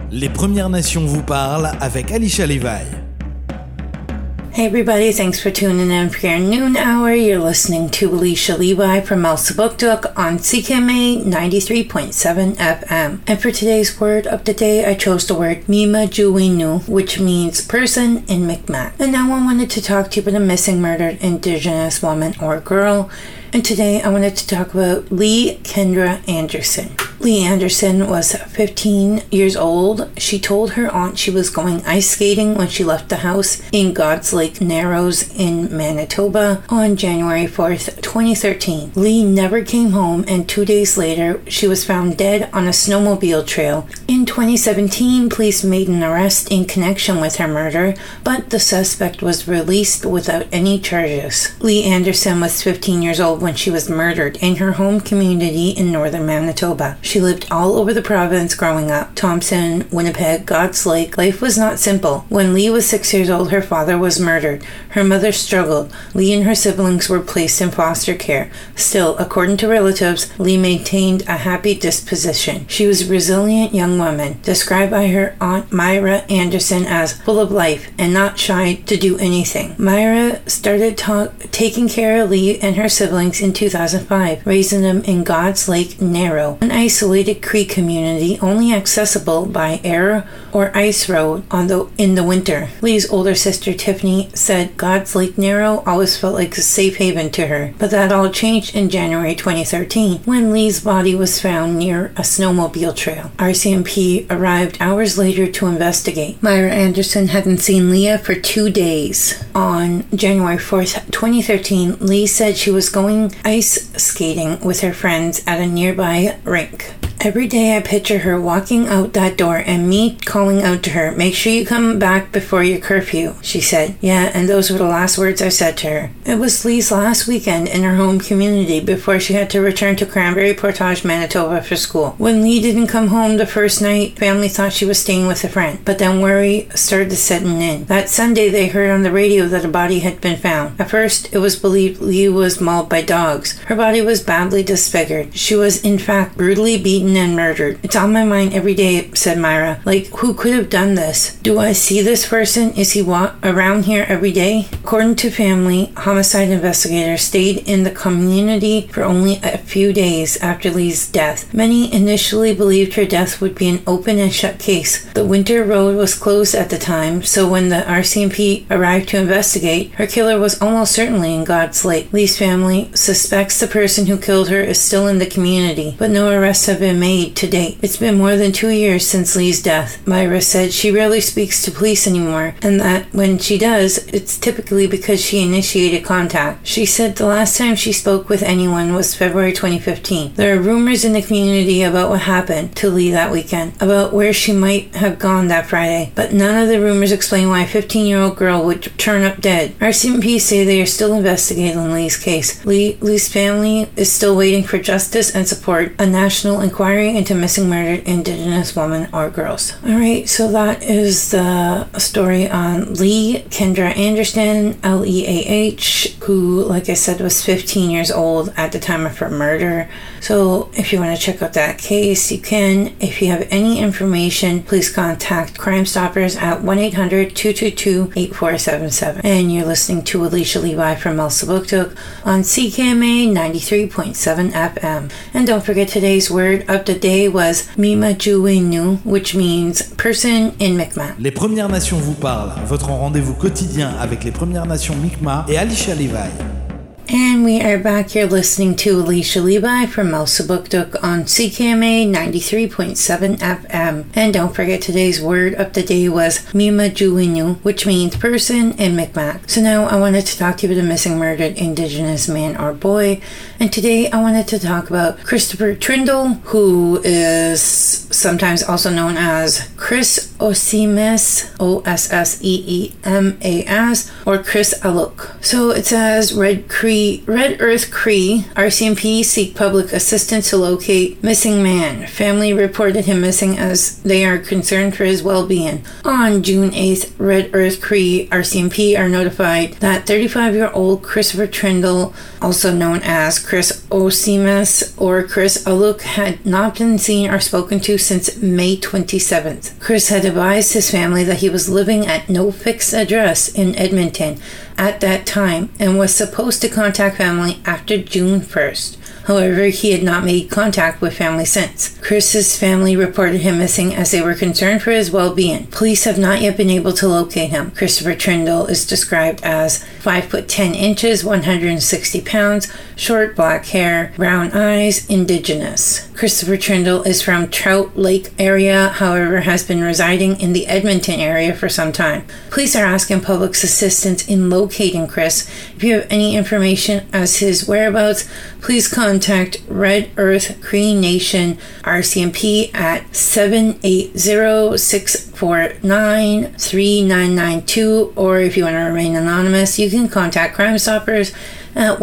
Les Premières Nations vous parlent avec Alicia Levi. Hey everybody, thanks for tuning in for your noon hour. You're listening to Alicia Levi from Elsipogtog on CKMA 93.7 FM. And for today's word of the day, I chose the word Mimajuwinu, which means person in Mi'kmaq. And now I wanted to talk to you about a missing murdered Indigenous woman or girl. And today I wanted to talk about Lee Kendra Anderson. Lee Anderson was 15 years old. She told her aunt she was going ice skating when she left the house in God's Lake Narrows in Manitoba on January 4th, 2013. Lee never came home, and 2 days later, she was found dead on a snowmobile trail. In 2017, police made an arrest in connection with her murder, but the suspect was released without any charges. Lee Anderson was 15 years old when she was murdered in her home community in northern Manitoba. She lived all over the province growing up. Thompson, Winnipeg, God's Lake. Life was not simple. When Lee was 6 years old, her father was murdered. Her mother struggled. Lee and her siblings were placed in foster care. Still, according to relatives, Lee maintained a happy disposition. She was a resilient young woman, described by her aunt Myra Anderson as full of life and not shy to do anything. Myra started taking care of Lee and her siblings in 2005, raising them in God's Lake Narrow, an isolated Cree community only accessible by air or ice road in the winter. Lee's older sister Tiffany said God's Lake Narrow always felt like a safe haven to her, but that all changed in January 2013 when Lee's body was found near a snowmobile trail. RCMP arrived hours later to investigate. Myra Anderson hadn't seen Leah for 2 days. On January 4th, 2013, Lee said she was going ice skating with her friends at a nearby rink. Every day I picture her walking out that door and me calling out to her, "Make sure you come back before your curfew," she said. Yeah, and those were the last words I said to her. It was Lee's last weekend in her home community before she had to return to Cranberry Portage, Manitoba for school. When Lee didn't come home the first night, family thought she was staying with a friend, but then worry started setting in. That Sunday they heard on the radio that a body had been found. At first, it was believed Lee was mauled by dogs. Her body was badly disfigured. She was in fact brutally beaten and murdered. "It's on my mind every day," said Myra. "Like, who could have done this? Do I see this person? Is he around here every day?" According to family, homicide investigators stayed in the community for only a few days after Lee's death. Many initially believed her death would be an open and shut case. The winter road was closed at the time, so when the RCMP arrived to investigate, her killer was almost certainly in God's Lake. Lee's family suspects the person who killed her is still in the community, but no arrests have been made to date. It's been more than 2 years since Lee's death. Myra said she rarely speaks to police anymore, and that when she does, it's typically because she initiated contact. She said the last time she spoke with anyone was February 2015. There are rumors in the community about what happened to Lee that weekend, about where she might have gone that Friday, but none of the rumors explain why a 15-year-old girl would turn up dead. RCMP say they are still investigating Lee's case. Lee's family is still waiting for justice and support a national inquiry into missing murdered Indigenous women or girls. Alright, so that is the story on Lee Kendra Anderson, Leah, who, like I said, was 15 years old at the time of her murder. So if you want to check out that case, you can. If you have any information, please contact Crime Stoppers at 1-800-222-8477. And you're listening to Alicia Levi from Elsipogtog on CKMA 93.7 FM. And don't forget, today's word of the day was Mimajuwinu, which means person in Mi'kmaq. Les Premières Nations vous parlent, votre rendez-vous quotidien avec les Premières Nations Mi'kmaq et Alicia Levi. And we are back here listening to Alicia Levi from Elsipogtog on CKMA 93.7 FM. And don't forget, today's word of the day was Mimajuwinu, which means person in Mi'kmaq. So now I wanted to talk to you about a missing murdered Indigenous man or boy. And today I wanted to talk about Christopher Trindle, who is sometimes also known as Chris Osseemas, Osseemas, or Chris Aluk. So it says Red Cree The Red Earth Cree RCMP seek public assistance to locate missing man. Family reported him missing as they are concerned for his well-being. On June 8th, Red Earth Cree RCMP are notified that 35-year-old Christopher Trindle, also known as Chris Osimas or Chris Aluk, had not been seen or spoken to since May 27th. Chris had advised his family that he was living at no fixed address in Edmonton at that time and was supposed to contact family after June 1st. However, he had not made contact with family since. Chris's family reported him missing as they were concerned for his well-being. Police have not yet been able to locate him. Christopher Trindle is described as 5 foot 10 inches, 160 pounds, short black hair, brown eyes, Indigenous. Christopher Trindle is from Trout Lake area, however has been residing in the Edmonton area for some time. Police are asking public's assistance in locating Chris. If you have any information as his whereabouts, please contact Red Earth Cree Nation RCMP at 780-649-3992, or if you want to remain anonymous, you can contact Crime Stoppers at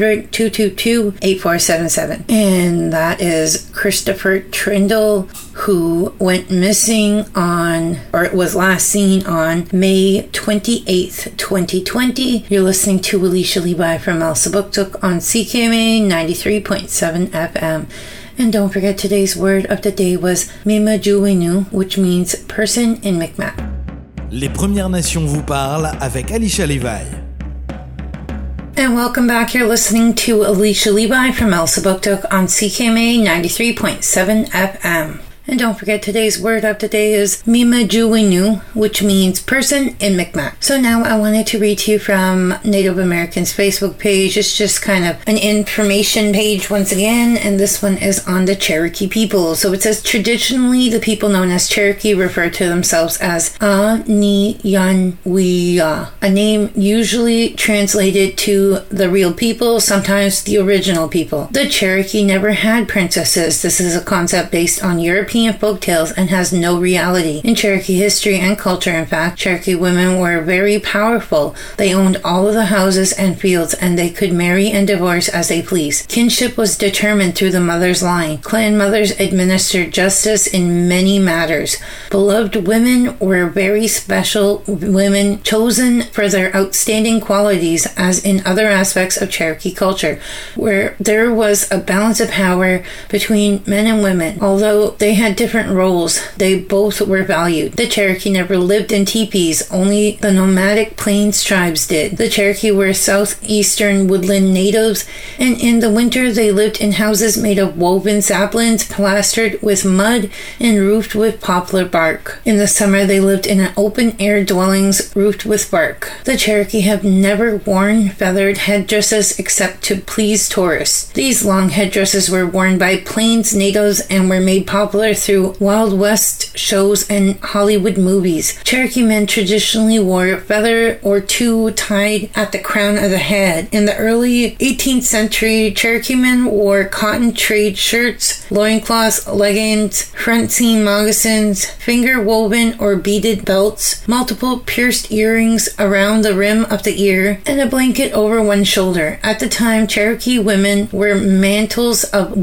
1-800-222-8477. And that is Christopher Trindle, who went missing on, or was last seen on, May 28th, 2020. You're listening to Alicia Levi from Elsipogtog on CKMA 93.7 FM. And don't forget, today's word of the day was Mimajuwinu, which means person in Mi'kmaq. Les Premières Nations vous parlent avec Alicia Levi. And welcome back. You're listening to Alicia Levi from Elsipogtog on CKMA 93.7 FM. And don't forget, today's word of the day is Mimajuwinu, which means person in Mi'kmaq. So now I wanted to read to you from Native Americans' Facebook page. It's just kind of an information page once again, and this one is on the Cherokee people. So it says, traditionally, the people known as Cherokee refer to themselves as Aniyanwiya, a name usually translated to the real people, sometimes the original people. The Cherokee never had princesses. This is a concept based on European folktales and has no reality. In Cherokee history and culture, in fact, Cherokee women were very powerful. They owned all of the houses and fields, and they could marry and divorce as they pleased. Kinship was determined through the mother's line. Clan mothers administered justice in many matters. Beloved women were very special women chosen for their outstanding qualities, as in other aspects of Cherokee culture, where there was a balance of power between men and women. Although they had different roles, they both were valued. The Cherokee never lived in teepees, only the nomadic plains tribes did. The Cherokee were southeastern woodland natives, and in the winter they lived in houses made of woven saplings, plastered with mud, and roofed with poplar bark. In the summer they lived in open-air dwellings roofed with bark. The Cherokee have never worn feathered headdresses except to please tourists. These long headdresses were worn by plains natives and were made popular through Wild West shows and Hollywood movies. Cherokee men traditionally wore a feather or two tied at the crown of the head. In the early 18th century, Cherokee men wore cotton trade shirts, loincloths, leggings, front seam moccasins, finger woven or beaded belts, multiple pierced earrings around the rim of the ear, and a blanket over one shoulder. At the time, Cherokee women wore mantles of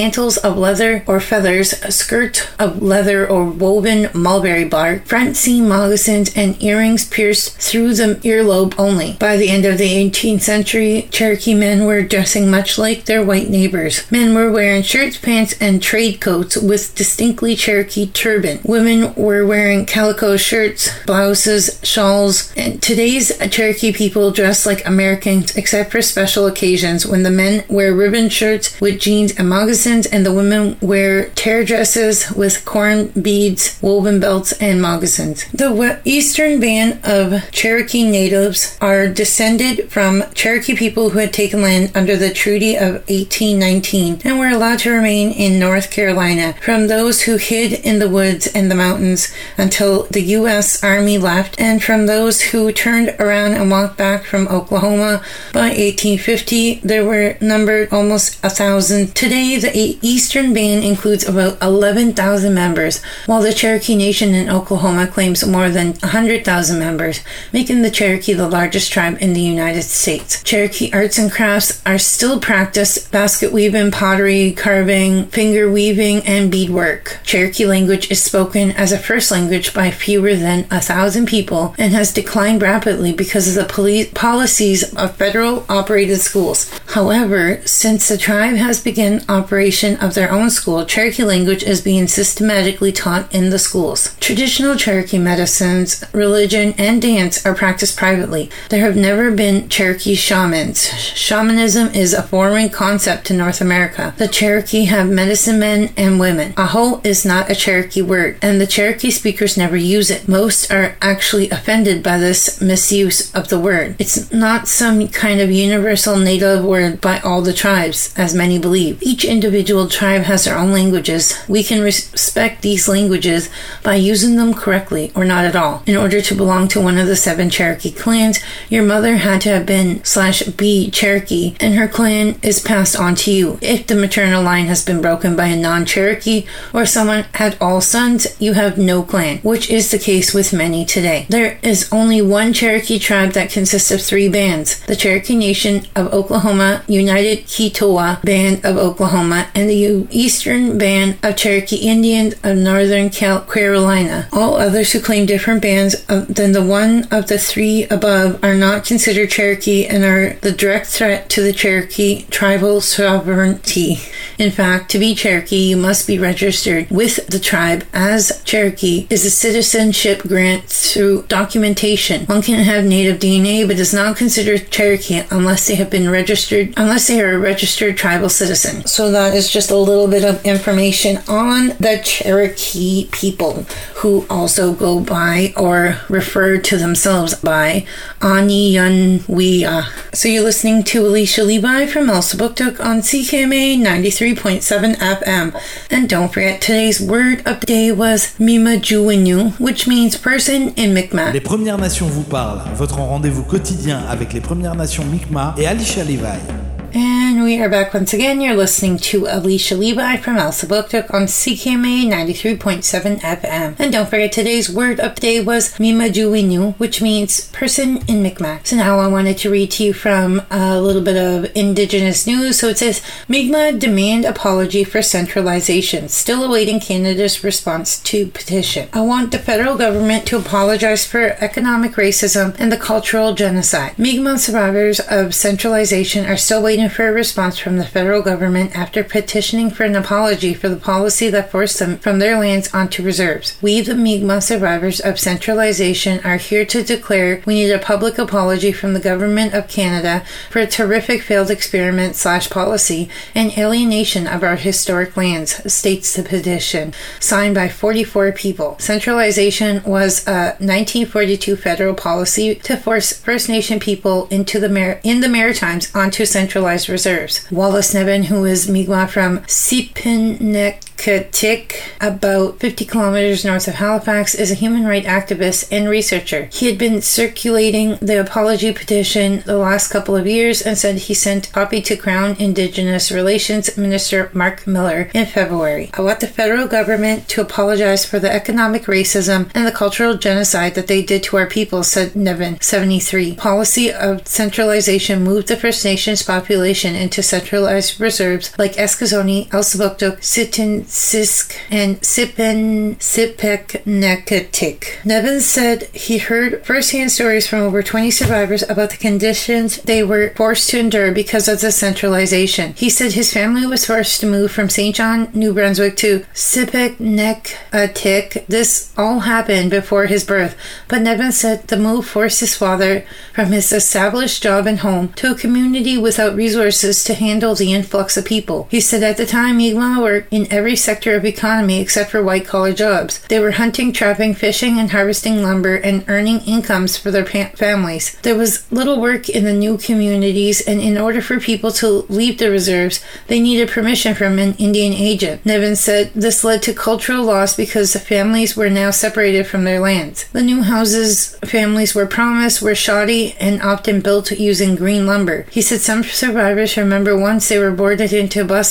leather or feathers, a skirt of leather or woven mulberry bark, front seam moccasins, and earrings pierced through the earlobe only. By the end of the 18th century, Cherokee men were dressing much like their white neighbors. Men were wearing shirts, pants, and trade coats with distinctly Cherokee turban. Women were wearing calico shirts, blouses, shawls, and today's Cherokee people dress like Americans except for special occasions when the men wear ribbon shirts with jeans and moccasins, and the women wear tear dresses with corn beads, woven belts, and moccasins. The eastern band of Cherokee natives are descended from Cherokee people who had taken land under the Treaty of 1819 and were allowed to remain in North Carolina, from those who hid in the woods and the mountains until the U.S. Army left, and from those who turned around and walked back from Oklahoma. By 1850, there were numbered almost 1,000. Today, the eastern band includes about 11 11,000 members, while the Cherokee Nation in Oklahoma claims more than 100,000 members, making the Cherokee the largest tribe in the United States. Cherokee arts and crafts are still practiced: basket weaving, pottery, carving, finger weaving, and beadwork. Cherokee language is spoken as a first language by fewer than 1,000 people and has declined rapidly because of the policies of federal operated schools. However, since the tribe has begun operation of their own school, Cherokee language is being systematically taught in the schools. Traditional Cherokee medicines, religion, and dance are practiced privately. There have never been Cherokee shamans. Shamanism is a foreign concept to North America. The Cherokee have medicine men and women. Aho is not a Cherokee word, and the Cherokee speakers never use it. Most are actually offended by this misuse of the word. It's not some kind of universal native word by all the tribes, as many believe. Each individual tribe has their own languages. We can respect these languages by using them correctly or not at all. In order to belong to one of the 7 Cherokee clans, your mother had to have been /be Cherokee, and her clan is passed on to you. If the maternal line has been broken by a non-Cherokee or someone had all sons, you have no clan, which is the case with many today. There is only one Cherokee tribe that consists of 3 bands: the Cherokee Nation of Oklahoma, United Ketowa Band of Oklahoma, and the Eastern Band of Cherokee Indians of Northern Carolina. All others who claim different bands than the one of the 3 above are not considered Cherokee and are the direct threat to the Cherokee tribal sovereignty. In fact, to be Cherokee, you must be registered with the tribe as Cherokee is a citizenship grant through documentation. One can have native DNA but is not considered Cherokee unless they are a registered tribal citizen. So that is just a little bit of information on the Cherokee people, who also go by or refer to themselves by Aniyanwea. So you're listening to Alicia Levi from Elsipogtog on CKMA 93.7 FM. And don't forget, today's word of the day was Mimajuwinu, which means person in Mi'kmaq. Les Premières Nations vous parlent, votre rendez-vous quotidien avec les Premières Nations Mi'kmaq et Alicia Levi. And we are back once again. You're listening to Alicia Levi from Elsipogtog on CKMA 93.7 FM. And don't forget, today's word of the day was Mimajuwinu, which means person in Mi'kmaq. So now I wanted to read to you from a little bit of Indigenous news. So it says, Mi'kmaq demand apology for centralization, still awaiting Canada's response to petition. I want the federal government to apologize for economic racism and the cultural genocide. Mi'kmaq survivors of centralization are still waiting for a response from the federal government after petitioning for an apology for the policy that forced them from their lands onto reserves. We, the Mi'kmaq survivors of centralization, are here to declare we need a public apology from the Government of Canada for a terrific failed experiment / policy and alienation of our historic lands, states the petition, signed by 44 people. Centralization was a 1942 federal policy to force First Nation people in the Maritimes onto centralized reserves. Wallace Nevin, who is Mi'kmaq from Sipinekatik, about 50 kilometers north of Halifax, is a human rights activist and researcher. He had been circulating the apology petition the last couple of years and said he sent a copy to Crown Indigenous Relations Minister Mark Miller in February. I want the federal government to apologize for the economic racism and the cultural genocide that they did to our people, said Nevin, 73. Policy of centralization moved the First Nations population into centralized reserves like Eskasoni, Elsipogtog, Sitinisk, and Sipeknekatik. Nevin said he heard first-hand stories from over 20 survivors about the conditions they were forced to endure because of the centralization. He said his family was forced to move from St. John, New Brunswick to Sipeknekatik. This all happened before his birth, but Nevin said the move forced his father from his established job and home to a community without resources to handle the influx of people. He said at the time, Mi'kmaq worked in every sector of economy except for white-collar jobs. They were hunting, trapping, fishing, and harvesting lumber and earning incomes for their families. There was little work in the new communities, and in order for people to leave the reserves, they needed permission from an Indian agent. Nevin said this led to cultural loss because the families were now separated from their lands. The new houses families were promised were shoddy and often built using green lumber. He said some survivors remember once they were boarded into buses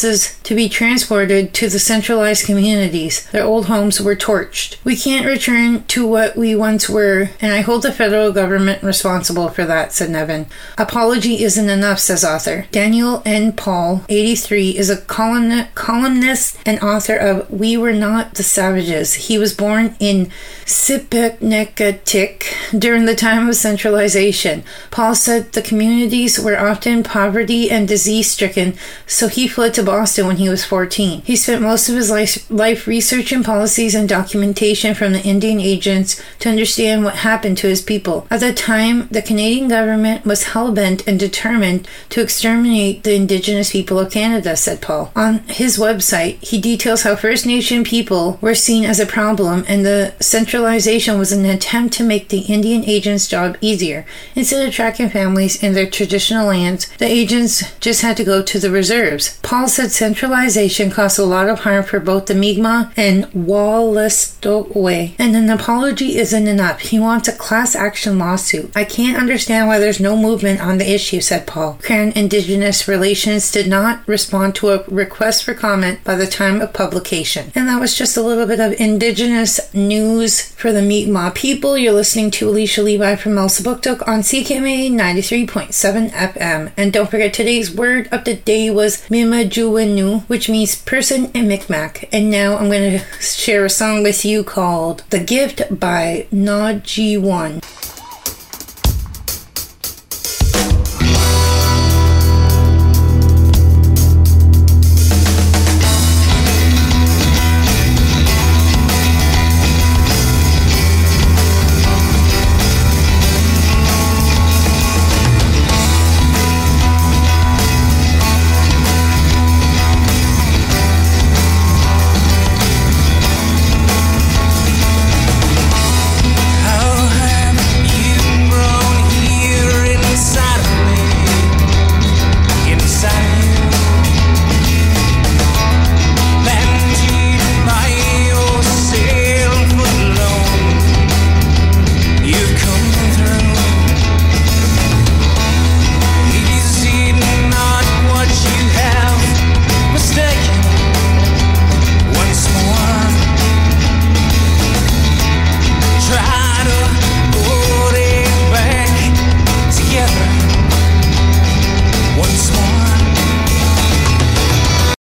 to be transported to the centralized communities. Their old homes were torched. We can't return to what we once were, and I hold the federal government responsible for that, said Nevin. Apology isn't enough, says author. Daniel N. Paul, 83, is a columnist and author of We Were Not the Savages. He was born in Sipeknegatik during the time of centralization. Paul said the communities were often poverty and disease-stricken, so he fled to Boston when he was 14. He spent most of his life researching policies and documentation from the Indian agents to understand what happened to his people. At the time, the Canadian government was hell-bent and determined to exterminate the Indigenous people of Canada, said Paul. On his website, he details how First Nation people were seen as a problem, and the centralization was an attempt to make the Indian agents' job easier. Instead of tracking families in their traditional lands, the agents just had to go to the reserves. Paul said centralization caused a lot of harm for both the Mi'kmaq and Wolastoqey, and an apology isn't enough. He wants a class action lawsuit. I can't understand why there's no movement on the issue, said Paul. Crown Indigenous Relations did not respond to a request for comment by the time of publication. And that was just a little bit of Indigenous news for the Mi'kmaq people. You're listening to Alicia Levi from Elsipogtog on CKMA 93.7 FM. And don't forget, today's word of the day was Mimajuwenu, which means person in Mi'kmaq. And now I'm going to share a song with you called The Gift by Naji One.